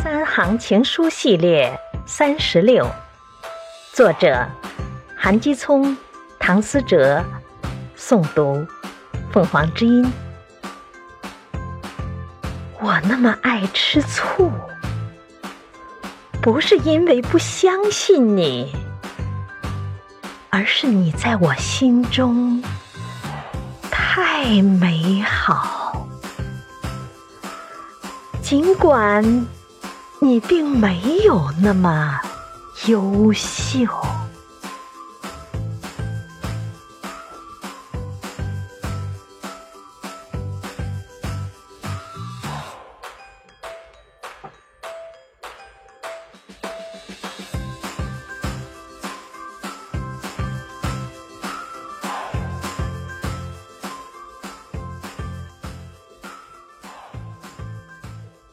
三行情书系列36，作者韩基聪、唐思哲，诵读凤凰之音。我那么爱吃醋，不是因为不相信你，而是你在我心中太美好。尽管你并没有那么优秀。